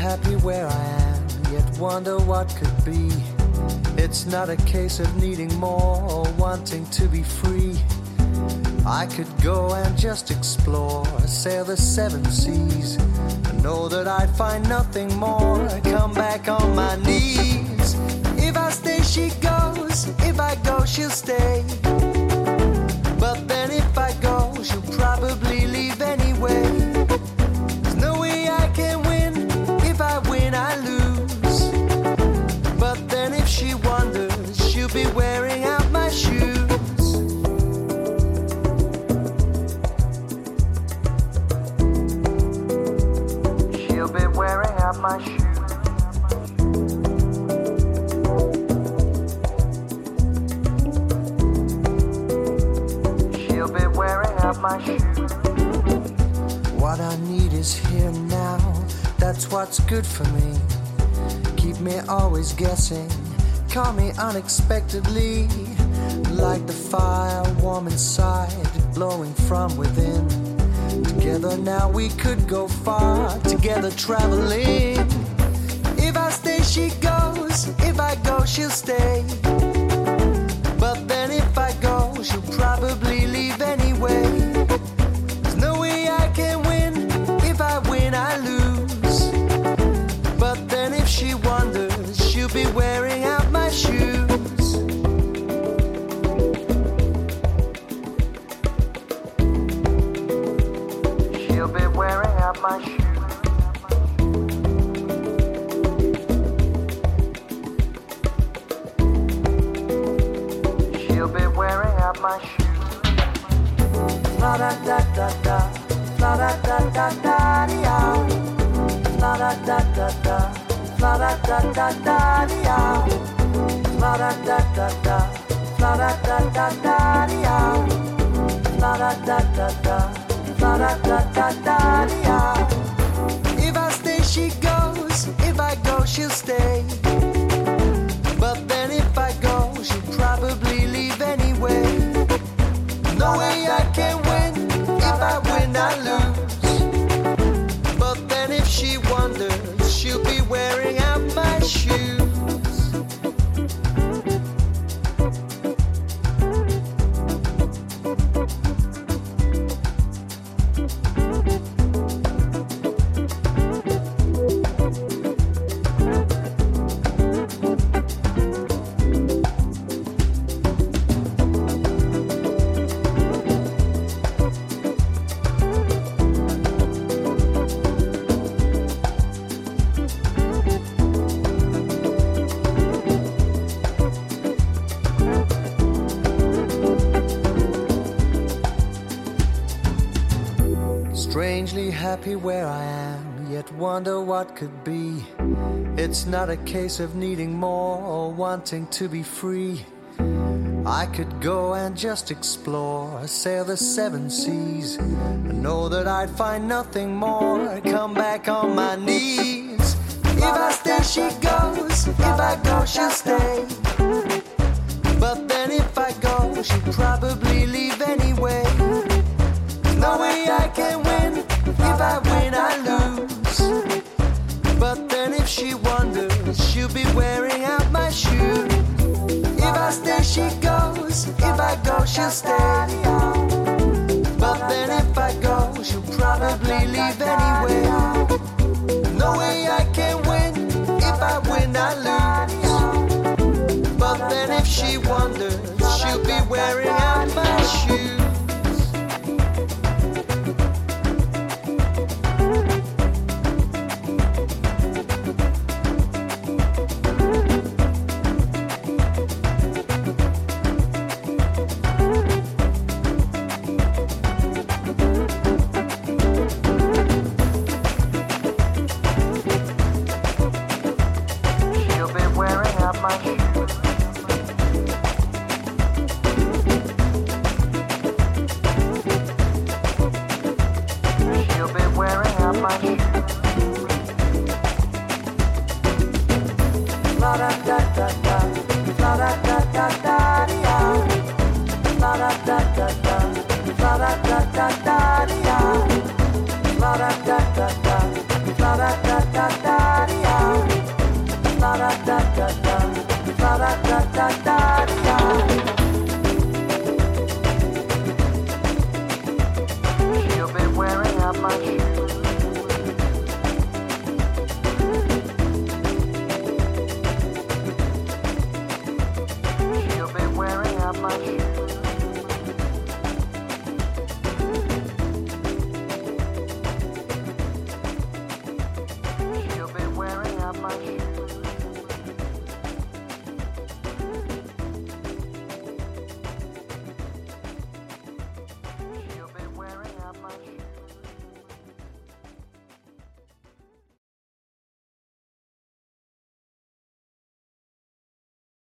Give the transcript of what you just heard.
happy where I am, yet wonder what could be. It's not a case of needing more or wanting to be free. I could go and just explore, sail the seven seas, and know that I'd find nothing more. Come back on my knees. If I stay, she goes. If I go, she'll stay. But then if I go, she'll probably leave anyway. There's no way I can win. If I win, I lose. But then if she wonders, she'll be wearing out my shoes. She'll be wearing out my shoes. My shoes. What I need is here now. That's what's good for me. Keep me always guessing. Call me unexpectedly. Like the fire warm inside, blowing from within. Together now we could go far. Together traveling. If I stay, she goes. If I go, she'll stay. But then if I go, she'll probably leave anyway. There's no way I can win. If I win, I lose. But then if she wonders, she'll be wearing out my shoes. She'll be wearing out my shoes. My shoes. La da da da da, la da da da da da, la da da da da, la da da da da da, la da da da da, la da da da da da, la da da da da, la da da da da. If I stay, she goes. If I go, she'll stay. But then if I go, she'll probably leave anyway. No way I can win. If I win, I lose. But then if she wonders, she'll be wearing out my shoes. Strangely happy where I am, yet wonder what could be. It's not a case of needing more or wanting to be free. I could go and just explore, sail the seven seas, and know that I'd find nothing more. Come back on my knees. If I stay, she goes. If I go, she'll stay. But then if I go, she'll probably leave anyway. No way I can win. If I win, I lose. But then if she wonders, she'll be wearing out my shoes. If I stay, she goes. If I go, she'll stay. But then if I go, she'll probably leave anyway. No way I can win. If I win, I lose. But then if she wonders, she'll be wearing out my shoes. La da da da da, la da da da da. da da da. She'll be wearing out my shoes.